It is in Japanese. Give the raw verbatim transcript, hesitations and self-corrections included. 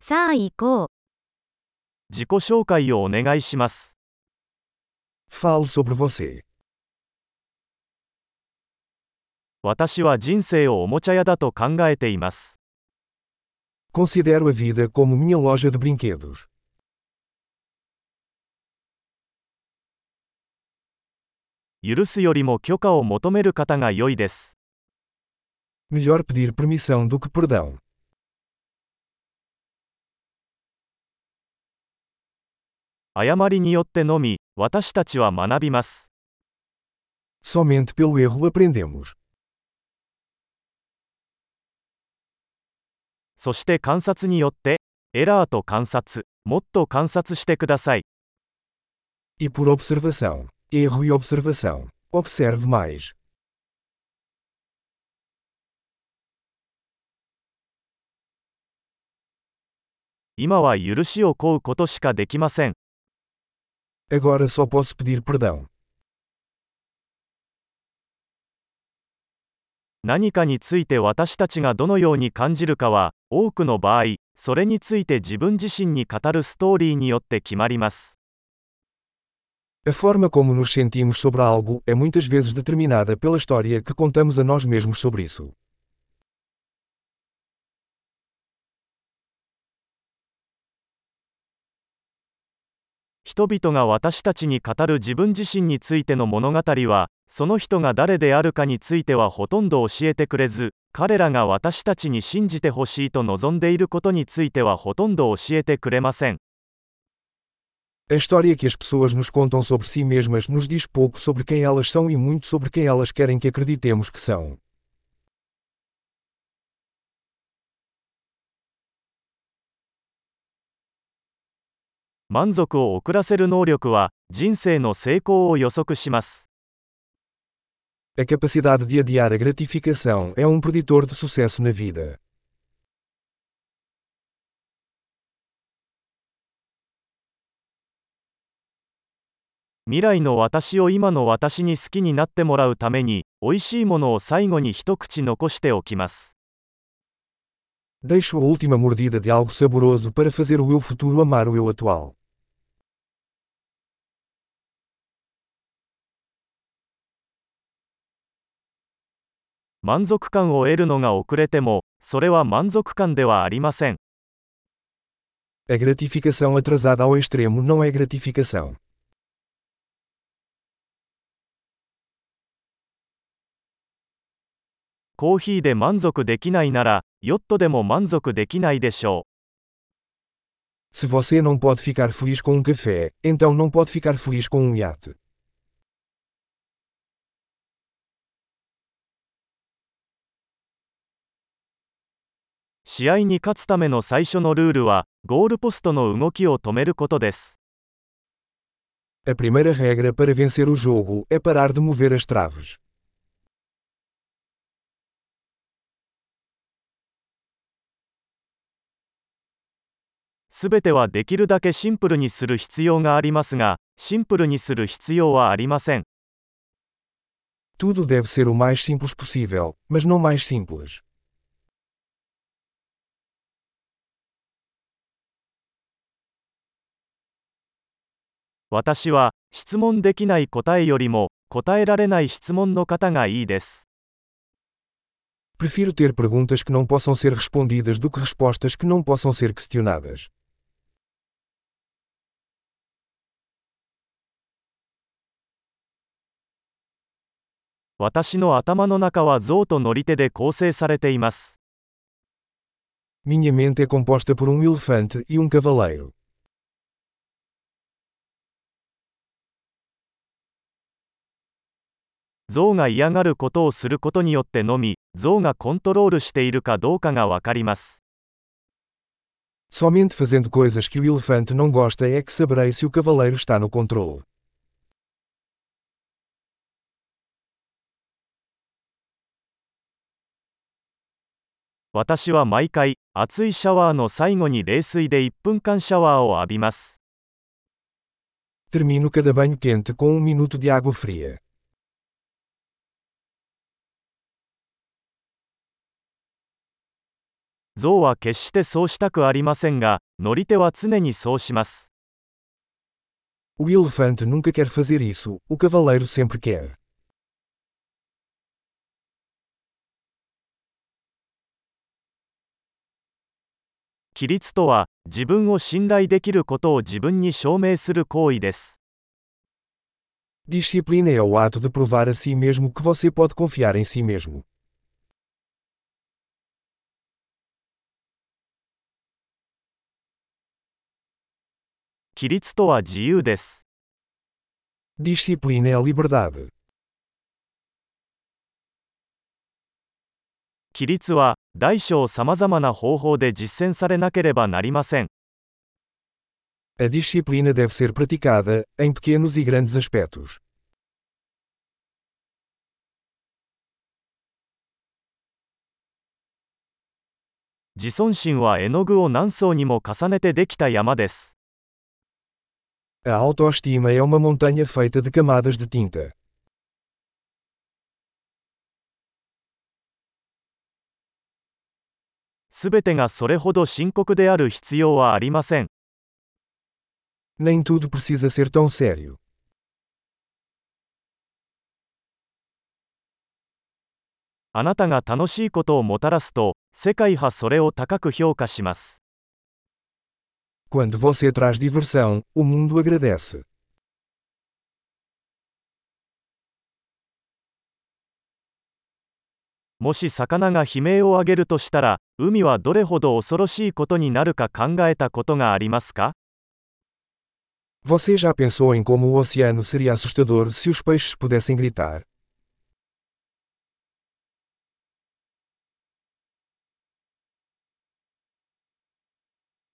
さあ行こう。 自己紹介をお願いします。 Fale sobre você. 私は人生をおもちゃ屋だと考えています。 Considero a vida como minha loja de brinquedos. 許すよりも許可を求める方が良いです。 Melhor pedir permissão do que perdão. 誤りによってのみ、私たちは学びます。 Somente pelo erro aprendemos. そして観察によって、エラーと観察、もっと観察してください。 E por observação, erro e observação, observe mais. 今は許しを請うことしかできません。 Agora só posso pedir perdão. 何かについて私たちがどのように感じるかは、多くの場合、それについて自分自身に語るストーリーによって決まります。 A forma como nos sentimos sobre algo é muitas vezes determinada pela história que contamos a nós mesmos sobre isso. 人々が私たちに語る自分自身についての物語は、その人が誰であるかについてはほとんど教えてくれず、彼らが私たちに信じてほしいと望んでいることについてはほとんど教えてくれません。 A história que as pessoas nos contam sobre si mesmas nos diz pouco sobre quem elas são e muito sobre quem elas querem que acreditemos que são. 満足を遅らせる能力は、人生の成功を予測します。 A capacidade de adiar a gratificação é um preditor de sucesso na vida. 未来の私を今の私に好きになってもらうために、美味しいものを最後に一口残しておきます。 Deixo a última mordida de algo saboroso para fazer o eu futuro amar o eu atual. 満足感を得るのが遅れても、それは満足感ではありません。 A gratificação atrasada ao extremo não é gratificação. コーヒーで満足できないなら、ヨットでも満足できないでしょう。 Se você não pode ficar feliz com um café, então não pode ficar feliz com um iate. 試合に勝つための最初のルールは、ゴールポストの動きを止めることです。 A primeira regra para vencer o jogo é parar de mover as traves. すべてはできるだけシンプルにする必要がありますが、シンプルにする必要はありません。 Tudo deve ser o mais simples possível, mas não mais simples. 私は、質問できない答えよりも、答えられない質問の方がいいです。 Prefiro ter perguntas que não possam ser respondidas do que respostas que não possam ser questionadas. 私の頭の中は象と乗り手で構成されています。 Minha mente é composta por um elefante e um cavaleiro. 象が嫌がることをすることによってのみ、象がコントロールしているかどうかがわかります。 Somente fazendo coisas que o elefante não gosta é que saberei se o cavaleiro está no controle. 私は毎回、熱いシャワーの最後に冷水でいっぷんかんシャワーを浴びます。 Termino cada banho quente com um minuto de água fria. 象は決してそうしたくありませんが、乗り手は常にそうします。 O elefante nunca quer fazer isso, o cavaleiro sempre quer. 規律とは、自分を信頼できることを自分に証明する行為です。 Disciplina é o ato de provar a si mesmo que você pode confiar em si mesmo. 規律とは自由です。 Disciplina é a liberdade. 規律は、大小さまざまな方法で実践されなければなりません。 A disciplina deve ser praticada, em pequenos e grandes aspectos. 自尊心は絵の具を何層にも重ねてできた山です。 A autoestima é uma montanha feita de camadas de tinta. すべてがそれほど深刻である必要はありません。 Nem tudo precisa ser tão sério. あなたが楽しいことをもたらすと、世界はそれを高く評価します。 Quando você traz diversão, o mundo agradece. もし魚が悲鳴を上げるとしたら、海はどれほど恐ろしいことになるか考えたことがありますか？ Você já pensou em como o oceano seria assustador se os peixes pudessem gritar?